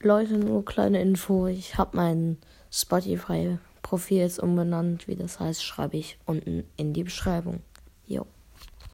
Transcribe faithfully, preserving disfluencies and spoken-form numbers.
Leute, nur kleine Info. Ich habe mein Spotify-Profil jetzt umbenannt. Wie das heißt, schreibe ich unten in die Beschreibung. Jo.